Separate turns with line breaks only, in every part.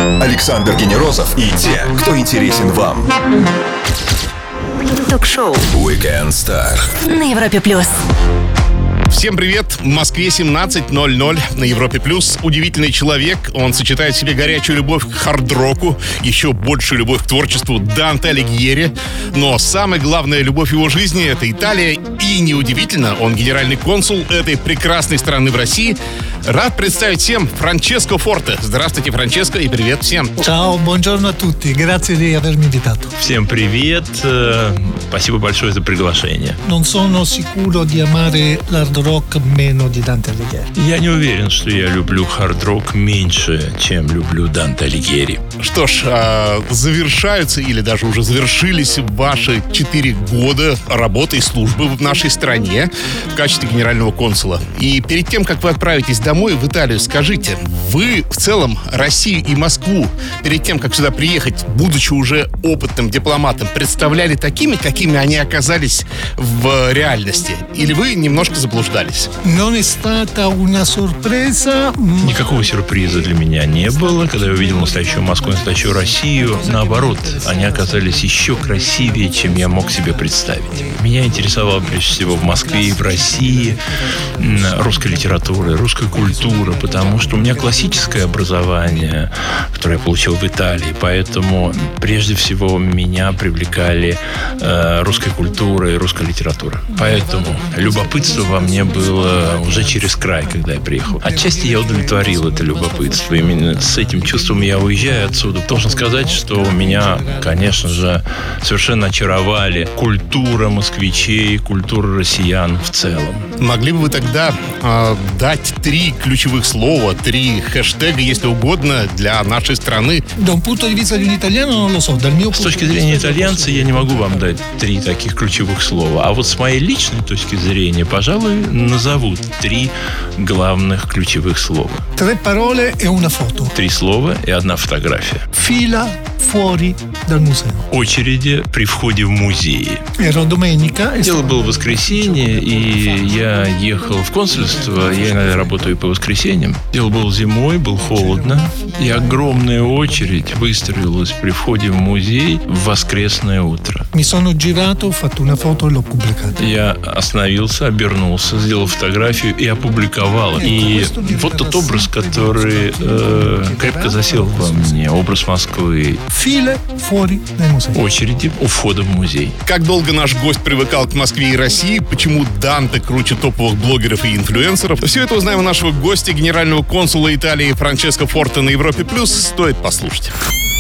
Александр Генерозов и те, кто интересен вам.
Ток-шоу
Weekend Star
на Европе+.
Всем привет! В Москве 17:00 на Европе+. Удивительный человек. Он сочетает в себе горячую любовь к хард-року, еще большую любовь к творчеству Данте Алигьери. Но самая главная любовь его жизни — это Италия. И неудивительно, он генеральный консул этой прекрасной страны в России. Рад представить всем Франческо Форте. Здравствуйте, Франческо, и привет всем.
Ciao, buongiorno a tutti. Grazie di avermi invitato.
Всем привет. Спасибо большое за приглашение.
Non sono sicuro di amare l'hard rock meno di Dante Alighieri.
Я не уверен, что я люблю хард-рок меньше, чем люблю Данте Алигьери.
Что ж, завершаются или даже уже завершились ваши 4 года работы и службы в нашей стране в качестве генерального консула. И перед тем, как вы отправитесь домой в Италию, скажите, вы в целом Россию и Москву перед тем, как сюда приехать, будучи уже опытным дипломатом, представляли такими, какими они оказались в реальности? Или вы немножко заблуждались?
Non è stata una sorpresa.
Никакого сюрприза для меня не было, когда я увидел настоящую Москву, настоящую Россию. Наоборот, они оказались еще красивее, чем я мог себе представить. Меня интересовало прежде всего в Москве и в России русская литература, русская культура, потому что у меня классическое образование, которое я получил в Италии, поэтому прежде всего меня привлекали русская культура и русская литература. Поэтому любопытство во мне было уже через край, когда я приехал. Отчасти я удовлетворил это любопытство. Именно с этим чувством я уезжаю отсюда. Должен сказать, что меня, конечно же, совершенно очаровали культура москвичей, культура россиян в целом.
Могли бы вы тогда дать 3 ключевых слова, 3 хэштега, если угодно, для нашей страны?
Da un punto di vista di un italiano non lo so, dal mio
С точки зрения итальянца я не могу вам дать 3 таких ключевых слова. А вот с моей личной точки зрения, пожалуй, назовут 3 главных ключевых слова.
3 parole e una foto.
3 слова и 1 фотография.
Fila fuori dal museo.
Очереди при входе в музей.
Ero domenica e
Дело было в воскресенье, и я ехал в консульство. Я иногда работаю по воскресеньям. Дело было зимой, было холодно. И огромная очередь выстроилась при входе в музей в воскресное утро.
mi sono girato, ho fatto una foto e l'ho pubblicata.
Я остановился, обернулся, сделал фотографию и опубликовал. И вот тот образ, который крепко засел во мне. Образ Москвы.
File fuori dal museo.
Очереди у входа в музей.
Как долго наш гость привыкал к Москве и России? Почему Данте круче топовых блогеров и инфлюенсеров? Все это узнаем у нашего гостя, генерального консула Италии Франческо Форте на Европе+. Стоит послушать.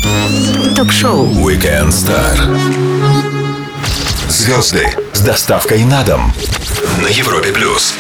Ток-шоу
Weekend Star. Звезды с доставкой на дом на Европе+.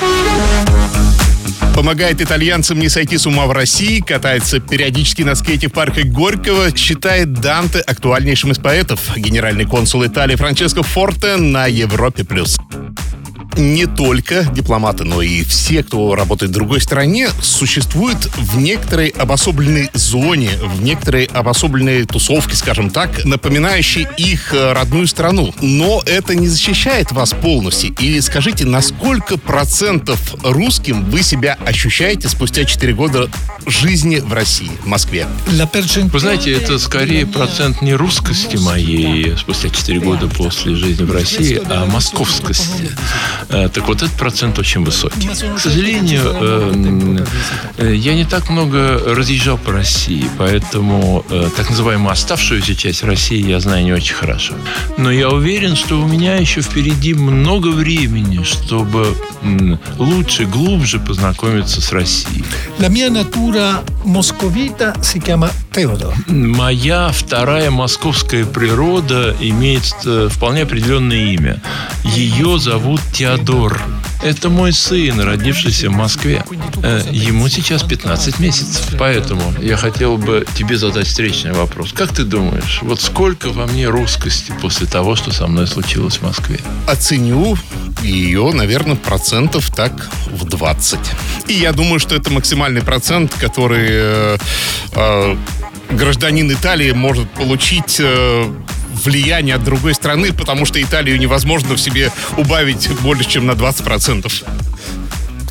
Помогает итальянцам не сойти с ума в России, катается периодически на скейте в парке Горького, считает Данте актуальнейшим из поэтов. Генеральный консул Италии Франческо Форте на Европе+. Не только дипломаты, но и все, кто работает в другой стране, существуют в некоторой обособленной зоне, в некоторой обособленной тусовке, скажем так, напоминающей их родную страну. Но это не защищает вас полностью. Или скажите, на сколько процентов русским вы себя ощущаете спустя 4 года жизни в России, в Москве?
Вы знаете, это скорее процент не русскости моей спустя 4 года после жизни в России, а московскости. Так вот, этот процент очень высокий. К сожалению, я не так много разъезжал по России, поэтому так называемую оставшуюся часть России я знаю не очень хорошо. Но я уверен, что у меня еще впереди много времени, чтобы лучше, глубже познакомиться с Россией.
La mia natura moscovita si chiama Теодор.
Моя вторая московская природа имеет вполне определенное имя. Ее зовут Теодор. Это мой сын, родившийся в Москве. Ему сейчас 15 месяцев. Поэтому я хотел бы тебе задать встречный вопрос. Как ты думаешь, вот сколько во мне русскости после того, что со мной случилось в Москве?
Оценю ее, наверное, процентов так в 20. И я думаю, что это максимальный процент, который гражданин Италии может получить влияние от другой страны, потому что Италию невозможно в себе убавить больше, чем на 20%.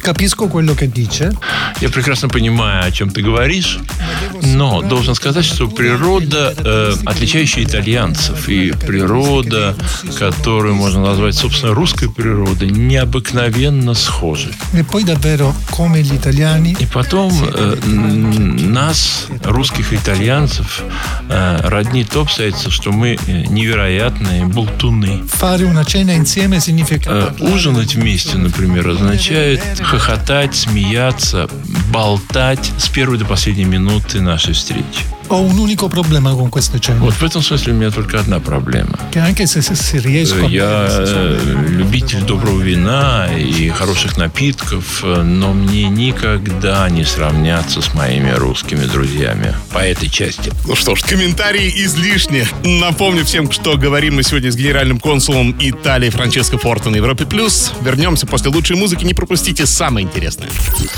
Capisco quello che dice.
Я прекрасно понимаю, о чем ты говоришь, но должен сказать, что природа, отличающая итальянцев, и природа, которую можно назвать, собственно, русской природой, необыкновенно схожи.
E poi davvero, come gli italiani,
И потом нас, русских итальянцев, роднит то обстоятельство, что мы невероятные болтуны.
fare una cena insieme significa
Ужинать вместе, например, означает хохотать, смеяться, болтать с первой до последней минуты нашей встречи.
Ho un unico problema con queste cene.
Вот в этом смысле у меня только одна проблема.
Che anche se riesco a
Я любитель доброго вина и хороших напитков, но мне никогда не сравняться с моими русскими друзьями по этой части.
Ну что ж, комментарии излишни. Напомню всем, что говорим мы сегодня с генеральным консулом Италии Франческо Форте на Европе+. Вернемся после лучшей музыки. Не пропустите самое интересное.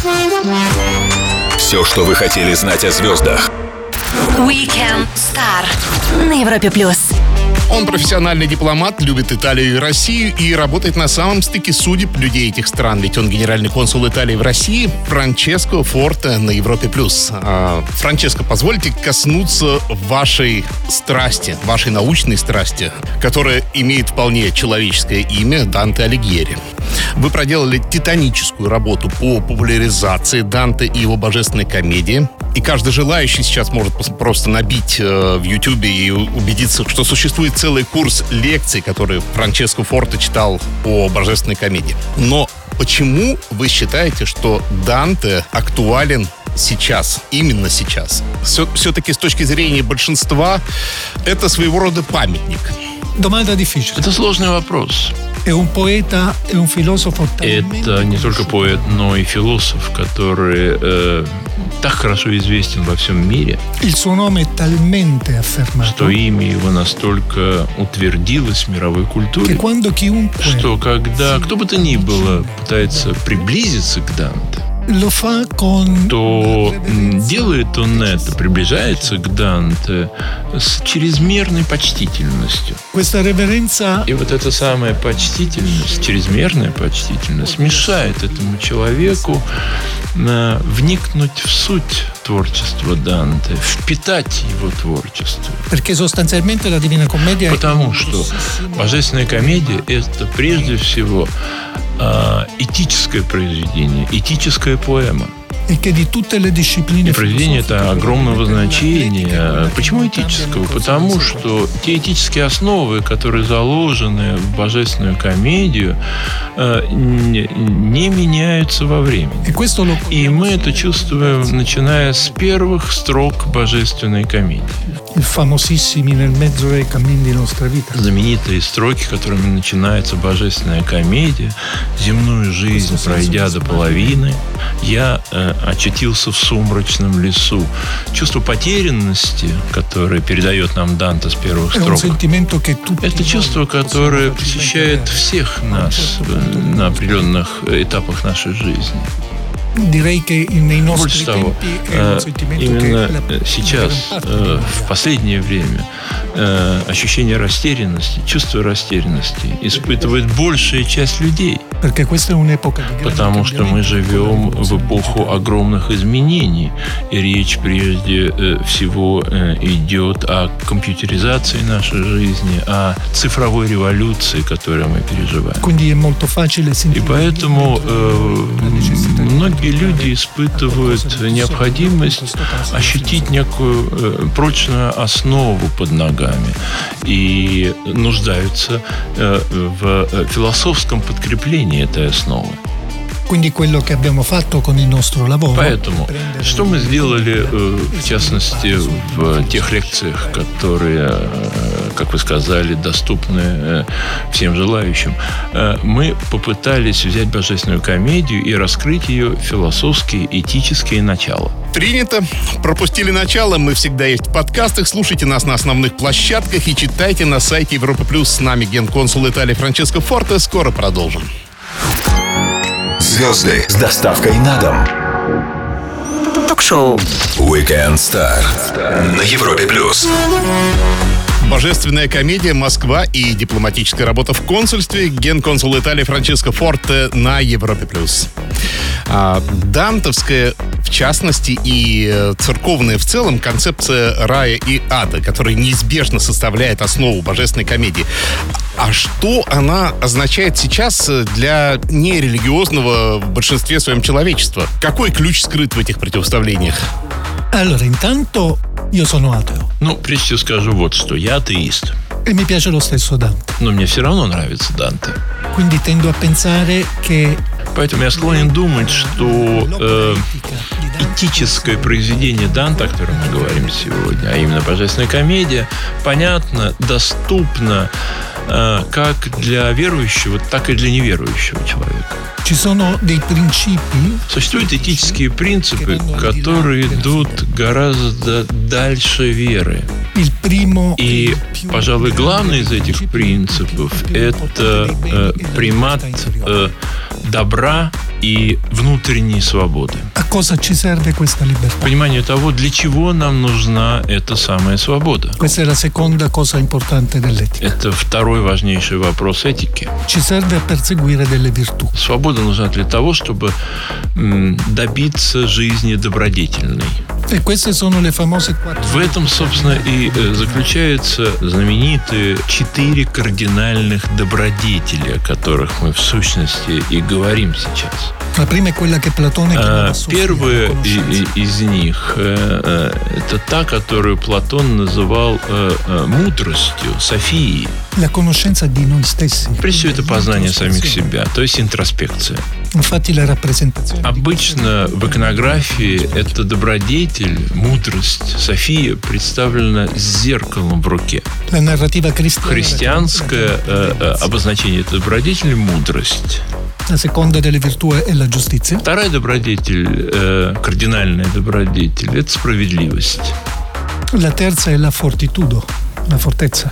Все, что вы хотели знать о звездах.
Weekend Star на Европе+.
Он профессиональный дипломат, любит Италию и Россию и работает на самом стыке судеб людей этих стран. Ведь он генеральный консул Италии в России, Франческо Форте на Европе+. Франческо, позвольте коснуться вашей страсти, вашей научной страсти, которая имеет вполне человеческое имя — Данте Алигьери. Вы проделали титаническую работу по популяризации Данте и его божественной комедии. И каждый желающий сейчас может просто набить в Ютубе и убедиться, что существует целый курс лекций, которые Франческо Форте читал по божественной комедии. Но почему вы считаете, что Данте актуален сейчас, именно сейчас? Все-таки с точки зрения большинства это своего рода памятник.
Domanda difficile.
Это сложный вопрос.
È un poeta e un filosofo
Это не только поэт, но и философ, который так хорошо известен во всем мире,
Il suo nome è talmente affermato
что имя его настолько утвердилось в мировой
che
культуре,
quando chiunque
что когда кто бы то ни было пытается приблизиться к Данте,
lo fa con
то делает он это, приближается к Данте с чрезмерной почтительностью.
questa reverenza
И вот эта самая почтительность, чрезмерная почтительность, мешает этому человеку вникнуть в суть творчества Данте, впитать его творчество.
perché sostanzialmente la Divina Commedia
Потому что Божественная комедия — это прежде всего этическое произведение, этическая поэма.
e che di tutte le discipline
И произведение это огромного значения. Почему этического? Потому что те этические основы, которые заложены в Божественную комедию, не меняются во времени.
e questo lo
И мы это чувствуем, начиная с первых строк Божественной комедии.
i famosissimi nel mezzo dei cammini di nostra vita.
Знаменитые строки, которыми начинается Божественная комедия: «Земную жизнь пройдя до половины, я очутился в сумрачном лесу». Чувство потерянности, которое передает нам Данте с первых
È un
строк,
sentimento che tutti
это чувство, которое посещает всех нас на определенных этапах нашей жизни.
direi che nei nostri
Больше того,
tempi è un sentimento
именно
che
сейчас, в последнее время, ощущение растерянности, чувство растерянности испытывает большая часть людей.
perché questa è un'epoca di grande
Потому что мы живем в эпоху огромных изменений. И речь прежде всего идет о компьютеризации нашей жизни, о цифровой революции, которую мы переживаем.
quindi è molto facile
И
sentire
поэтому многие люди испытывают необходимость ощутить некую прочную основу под ногами и нуждаются в философском подкреплении этой основы.
quindi quello che abbiamo fatto con il nostro lavoro
Поэтому, что мы сделали, в частности, в тех лекциях, которые, как вы сказали, доступны всем желающим, мы попытались взять Божественную комедию и раскрыть ее философские, этические начала.
Принято. Пропустили начало. Мы всегда есть в подкастах. Слушайте нас на основных площадках и читайте на сайте Европа+. С нами генконсул Италии Франческо Форте. Скоро продолжим.
Звезды с доставкой на дом.
Ток-шоу.
Weekend Star на Европе+.
Божественная комедия, Москва и дипломатическая работа в консульстве. Генконсул Италии Франческо Форте на Европе+. Дантовская, в частности, и церковная в целом концепция рая и ада, которая неизбежно составляет основу божественной комедии. А что она означает сейчас для нерелигиозного в большинстве своем человечества? Какой ключ скрыт в этих противоставлениях?
Allora, intanto io sono ateo
Ну, прежде всего скажу вот что. Я атеист.
e mi piace lo stesso Dante.
Но мне все равно нравится Данте.
Quindi tendo a pensare che
Поэтому я склонен думать, что этическое произведение Данте, о котором мы говорим сегодня, а именно божественная комедия, понятно, доступно как для верующего, так и для неверующего человека.
ci sono dei principi
Существуют этические принципы, которые идут гораздо дальше веры.
il primo
И, pожалуй, главный из этих принципов – это примат добра и внутренней свободы.
a cosa ci serve questa libertà.
Понимание того, для чего нам нужна эта самая свобода.
Questa è la seconda cosa importante dell'etica.
Это второй важнейший вопрос этики.
Ci serve a perseguire delle virtù.
Свобода нужна для того, чтобы добиться жизни добродетельной.
E queste sono le famose quattro.
В этом, собственно, и заключаются знаменитые 4 кардинальных добродетели, о которых мы в сущности и говорим сейчас.
La prima è quella che Platone chiamava Sofia,
Первая
la conoscenza.
из них это та, которую Платон называл мудростью, Софией.
La conoscenza di noi stessi.
Прежде всего, это познание самих себя, то есть интроспекция.
Infatti la rappresentazione di
Обычно в иконографии эта добродетель, мудрость, София представлена с зеркалом в руке.
la narrativa cristiana.
Христианское обозначение этой добродетели – мудрость.
La seconda delle virtù è la giustizia.
Вторая добродетель, кардинальная добродетель – это справедливость.
La terza è la fortitudo, la fortezza,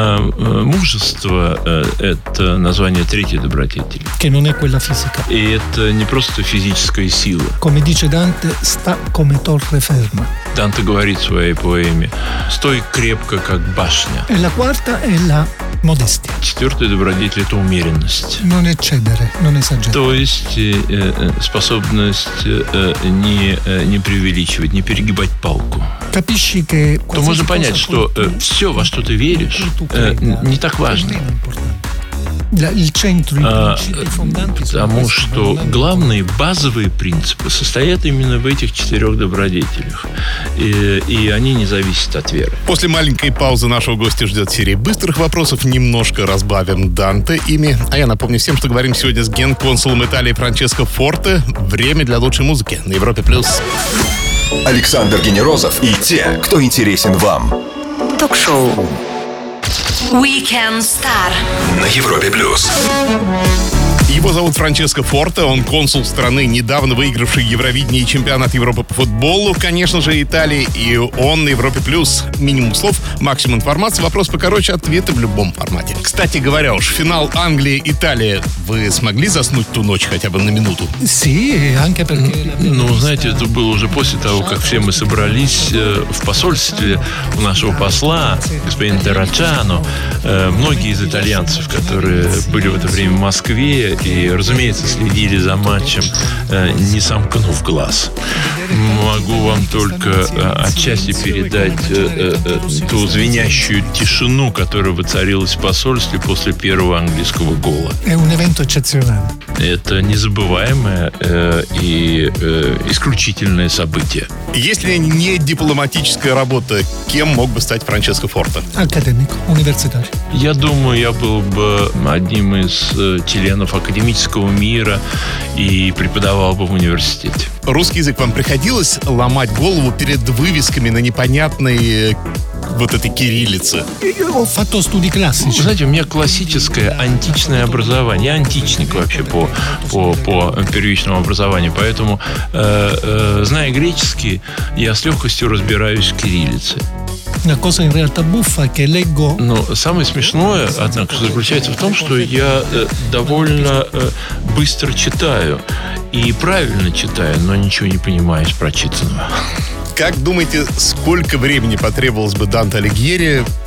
Мужество – это название третьей добродетели.
che non è quella fisica.
И это не просто физическая сила.
Come dice Dante, sta come torre ferma.
Данте говорит в своей поэме «Стой крепко, как башня».
E la quarta è la modestia.
Четвертая добродетель – это умеренность.
Non eccedere, non esagerare.
То есть способность не преувеличивать, не перегибать палку.
Capisci che
То можно понять, что все, во что ты веришь, не так важно.
Il centro, i principi fondanti sono
Потому
questi,
что
ma non è
главные базовые принципы состоят именно в этих 4 добродетелях. И они не зависят от веры.
После маленькой паузы нашего гостя ждет серия быстрых вопросов. Немножко разбавим Данте ими. А я напомню всем, что говорим сегодня с генконсулом Италии Франческо Форте. Время для лучшей музыки на Европе+.
Александр Генерозов и те, кто интересен вам.
Ток-шоу Weekend Star
На Европе+.
Его зовут Франческо Форте, он консул страны, недавно выигравший Евровидение и чемпионат Европы по футболу, конечно же, Италии, и он на Европе+. Минимум слов, максимум информации, вопрос покороче, ответы в любом формате. Кстати говоря, уж финал Англия-Италия, вы смогли заснуть ту ночь хотя бы на минуту?
Sì, anche perché
Ну, знаете, это было уже после того, как все мы собрались в посольстве у нашего посла, господина Террачано. Многие из итальянцев, которые были в это время в Москве и, разумеется, следили за матчем, не сомкнув глаз. Могу вам только отчасти передать ту звенящую тишину, которая воцарилась в посольстве после первого английского гола.
è un evento eccezionale.
Это незабываемое и исключительное событие.
Если не дипломатическая работа, кем мог бы стать Франческо Форте?
Accademico, universitario.
Я думаю, я был бы одним из членов академического мира и преподавал бы в университете.
Русский язык вам приходилось ломать голову перед вывесками на непонятной вот этой кириллице?
Io ho fatto studi
Вы
classici.
знаете, у меня классическое античное образование. Я античник вообще по первичному образованию. Поэтому, зная греческий, я с легкостью разбираюсь в кириллице.
La cosa in realtà buffa è che leggo
Но самое смешное, однако, заключается в том, что я довольно быстро читаю. И правильно читаю, но ничего не понимаю из прочитанного.
Как думаете, сколько времени потребовалось бы Данте Алигьери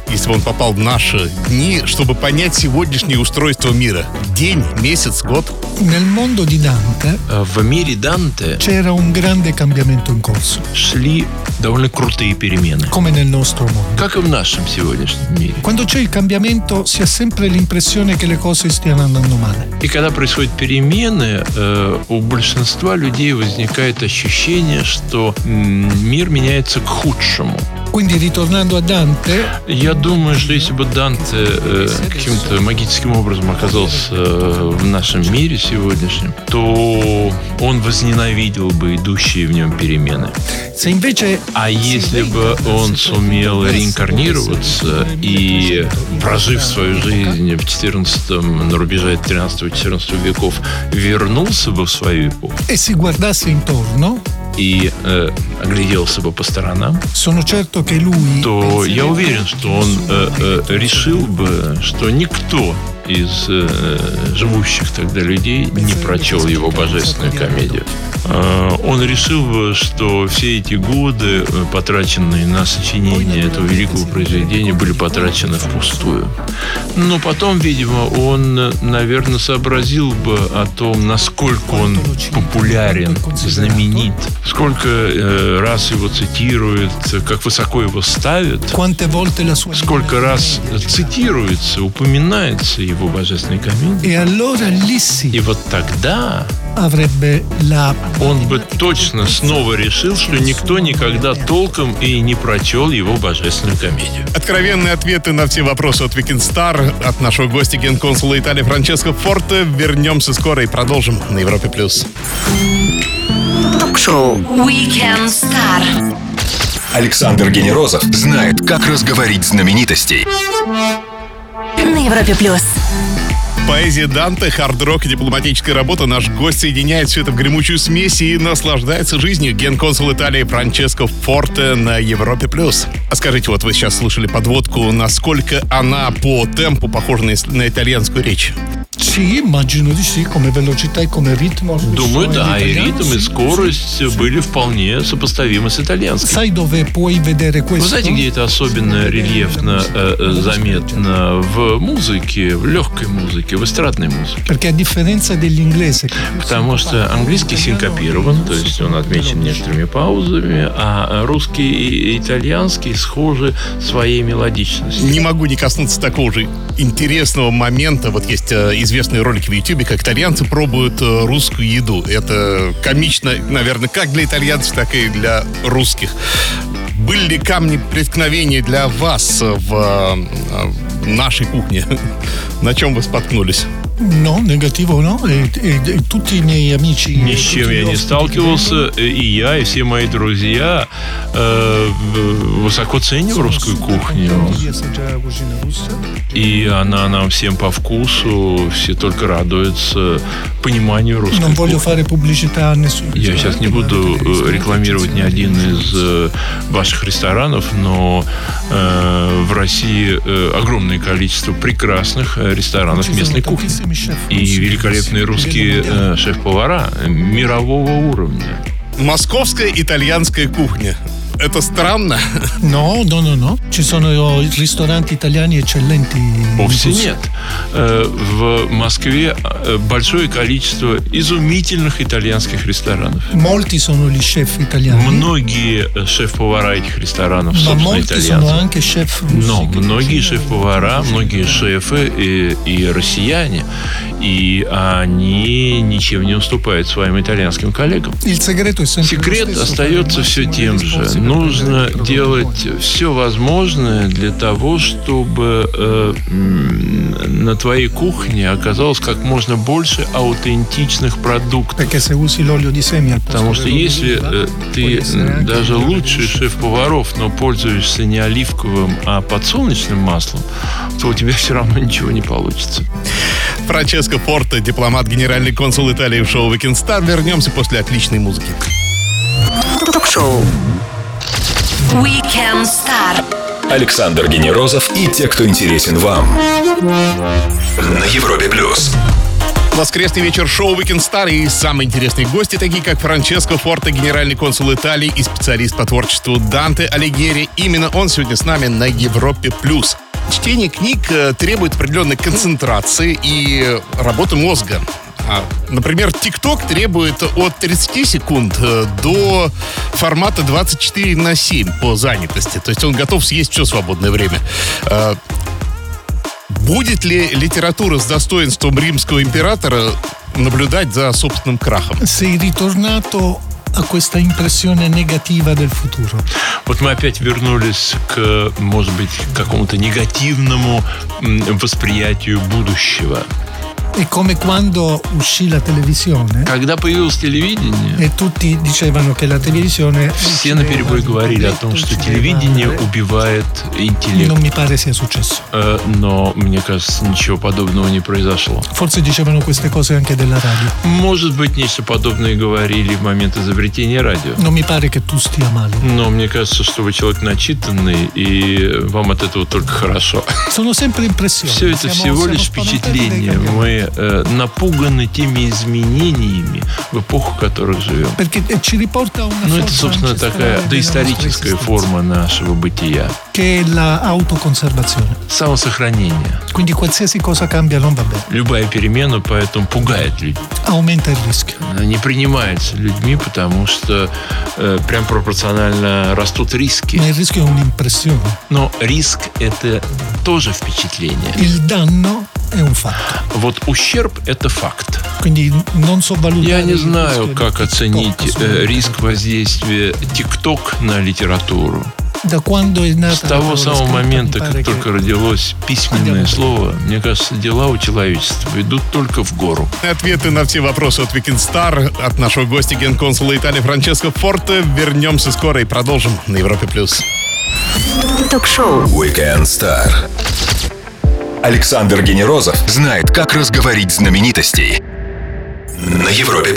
если бы он попал в наши дни, чтобы понять сегодняшнее устройство мира? День, месяц, год?
Nel mondo di Dante
В мире Данте
c'era un grande cambiamento in corso,
шли довольно крутые перемены,
come nel nostro mondo.
как и в нашем сегодняшнем мире.
Quando c'è il cambiamento si ha sempre l'impressione che le cose stiano andando male.
И когда происходят перемены, у большинства людей возникает ощущение, что мир меняется к худшему.
Quindi ritornando a Dante,
Я думаю, что если бы Данте каким-то магическим образом оказался в нашем мире сегодняшнем, то он возненавидел бы идущие в нем перемены.
se invece
А если бы он сумел реинкарнироваться и, прожив свою жизнь в 14-м, на рубеже 13-14 веков, вернулся бы в свою эпоху
e si guardasse intorno,
и огляделся бы по сторонам,
sono certo che lui
то я уверен, что он решил бы, что никто из живущих тогда людей не прочел его божественную комедию. Он решил бы, что все эти годы, потраченные на сочинение этого великого произведения, были потрачены впустую. Но потом, видимо, он, наверное, сообразил бы о том, насколько он популярен, знаменит, сколько раз его цитируют, как высоко его ставят,
quante volte la sua
сколько раз цитируется, упоминается его божественной комедии.
e allora lì sì
И вот тогда
avrebbe la
он бы точно снова решил, что никто никогда толком и не прочел его божественную комедию.
Откровенные ответы на все вопросы от Weekend Star от нашего гостя генконсула Италии Франческо Форте. Вернемся скоро и продолжим на Европе+.
Ток-шоу Weekend Star.
Александр Генерозов знает, как разговорить знаменитостей.
На Европе+.
Поэзия Данте, хард-рок и дипломатическая работа. Наш гость соединяет все это в гремучую смесь и наслаждается жизнью. Генконсул Италии Франческо Форте на Европе+. А скажите, вот вы сейчас слышали подводку, насколько она по темпу похожа на итальянскую речь?
sì, immagino di sì, come velocità e come ritmo.
Думаю, да, и
Italiano,
ритм, и
sì.
скорость были вполне сопоставимы с итальянским.
Sai dove puoi vedere
Вы
questo?
знаете, где это особенно рельефно заметно? В музыке, в легкой музыке, в эстрадной музыке.
Perché a differenza dell'inglese,
Потому что английский синкопирован, то есть он отмечен некоторыми паузами, а русский и итальянский схожи своей мелодичностью.
Не могу не коснуться такого же интересного момента. Вот есть известные ролики в Ютубе, как итальянцы пробуют русскую еду. Это комично, наверное, как для итальянцев, так и для русских. Были ли камни преткновения для вас в нашей кухне? На чем вы споткнулись?
no, negativo no, e tutti i miei amici.
Ни с чем я не сталкивался, и я, и все мои друзья высоко ценим русскую кухню. И она нам всем по вкусу, все только радуются пониманию русской
Non voglio
кухни.
fare pubblicità a nessuno.
Я сейчас не буду рекламировать ни один из ваших ресторанов, но в России огромное количество прекрасных ресторанов местной кухни. И великолепные русские шеф-повара мирового уровня.
Московская итальянская кухня. Это странно?
No, ci sono ristoranti italiani eccellenti.
Вовсе нет. В Москве большое количество изумительных итальянских ресторанов.
Molti sono gli chef italiani.
Многие шеф-повара этих ресторанов,
Ma
собственно,
molti sono
итальянцы.
anche chef russi.
Но многие шеф-повара, многие шефы и россияне, и они ничем не уступают своим итальянским коллегам.
Il segreto è sempre lo
Секрет
stesso,
остается
fare il
все
massimo
тем
degli
же.
sforzi per
Нужно
produrre
делать все возможное для того, чтобы на твоей кухне оказалось как можно больше аутентичных продуктов.
Perché se usi l'olio di semi al posto
Потому что
dell'olio
если
d'oliva,
ты
puoi essere anche
даже
migliore
лучший
del chef.
шеф-поваров, но пользуешься не оливковым, а подсолнечным маслом, то у тебя все равно ничего не получится.
Франческо Форте, дипломат, генеральный консул Италии в шоу Weekend Star. Вернемся после отличной музыки.
Ток-шоу Weekend Star.
Александр Генерозов и те, кто интересен вам. На Европе+.
Воскресный вечер шоу Weekend Star и самые интересные гости, такие как Франческо Форте, генеральный консул Италии и специалист по творчеству Данте Алигьери. Именно он сегодня с нами на Европе+. Чтение книг требует определенной концентрации и работы мозга. Например, TikTok требует от 30 секунд до формата 24/7 по занятости. То есть он готов съесть все свободное время. Будет ли литература с достоинством римского императора наблюдать за собственным крахом?
Sei ritornato a questa impressione negativa del futuro.
Вот мы опять вернулись к, может быть, какому-то негативному восприятию будущего.
È come quando uscì la televisione
Когда появилось телевидение,
e tutti dicevano che la televisione
все наперебой говорили о том, что телевидение убивает интеллект.
Non mi pare sia successo.
Но, мне кажется, ничего подобного не произошло.
Forse dicevano queste cose anche della radio.
Может быть, нечто подобное говорили в момент изобретения радио.
Non mi pare che tu stia male.
Но мне кажется, что вы человек начитанный, и вам от этого только хорошо.
Sono sempre impressioni.
Все это всего лишь впечатление. Мы напуганы теми изменениями, в эпоху, в которой живем.
Perché ci riporta a una
Ну, это,
forza
собственно, такая
ancestrale
доисторическая
della nostra
форма нашего бытия.
esistenza, che è la autoconservazione.
Самосохранение.
Quindi qualsiasi cosa cambia non va bene.
Любая перемена поэтому пугает людей.
Aumenta il rischio.
Она не принимается людьми, потому что прям пропорционально растут риски.
Ma il rischio è un'impressione.
Но риск – это тоже впечатление.
Il danno è un fatto.
Вот ущерб – это факт.
Quindi non so valutare.
Я не
il
знаю,
rischio
как
di
оценить
TikTok,
риск воздействия TikTok на литературу.
Da quando è nata
С того
la
самого
parola
момента,
scritta, mi
как
pare
только
che
родилось письменное слово, мне кажется, дела у человечества идут только в гору.
Ответы на все вопросы от Weekend Star от нашего гостя, генконсула Италии Франческо Форте. Вернемся скоро и продолжим на Европе+.
Ток-шоу.
Weekend Star. Александр Генерозов знает, как разговорить знаменитостей на Европе+.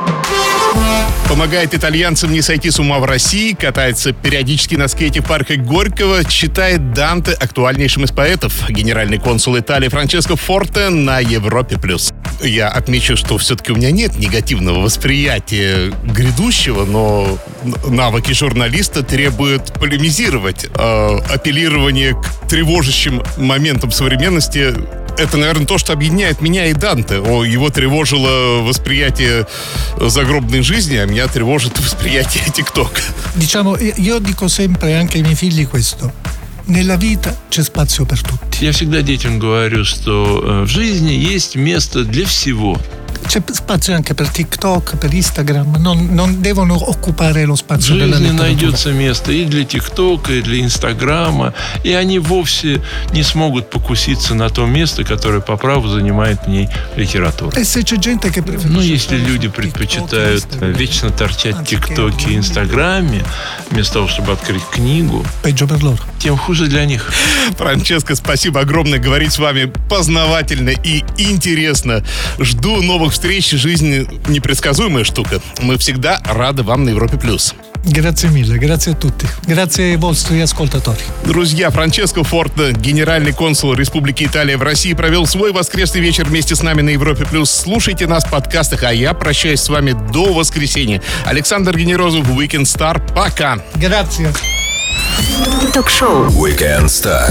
Помогает итальянцам не сойти с ума в России, катается периодически на скейте в парке Горького, читает Данте актуальнейшим из поэтов. Генеральный консул Италии Франческо Форте на Европе+. Я отмечу, что все-таки у меня нет негативного восприятия грядущего, но навыки журналиста требуют полемизировать. Апеллирование к тревожащим моментам современности — это, наверное, то, что объединяет меня и Данте. Его тревожило восприятие загробной жизни, а меня тревожит восприятие ТикТока.
Diciamo, io dico sempre anche ai miei figli questo. Nella vita c'è spazio per tutti.
Я всегда детям говорю, что в жизни есть место для всего.
C'è spazio anche per TikTok, per Instagram, non devono occupare lo
В
spazio della
жизни
letteratura.
найдется место и для ТикТока, и для Инстаграма, и они вовсе не смогут покуситься на то место, которое по праву занимает в ней литература.
E se c'è gente che preferisce
Ну, если
stare
люди
su TikTok,
предпочитают
Instagram,
вечно торчать в
anziché
ТикТоке и
aprire
Инстаграме, вместо того, чтобы открыть книгу,
peggio per loro.
тем хуже для них.
Франческо, спасибо огромное. Говорить с вами познавательно и интересно. Жду новых встреч. Жизнь непредсказуемая штука. Мы всегда рады вам на Европе+.
Grazie mille, grazie a tutti. Grazie ai vostri ascoltatori.
Друзья, Франческо Форте, генеральный консул Республики Италия в России, провел свой воскресный вечер вместе с нами на Европе+. Слушайте нас в подкастах, а я прощаюсь с вами до воскресенья. Александр Генерозов, Weekend Star. Пока.
Grazie.
Ток-шоу.
Weekend Star.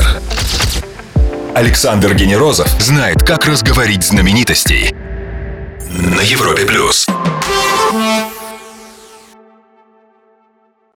Александр Генерозов знает, как разговорить знаменитостей на Европе+.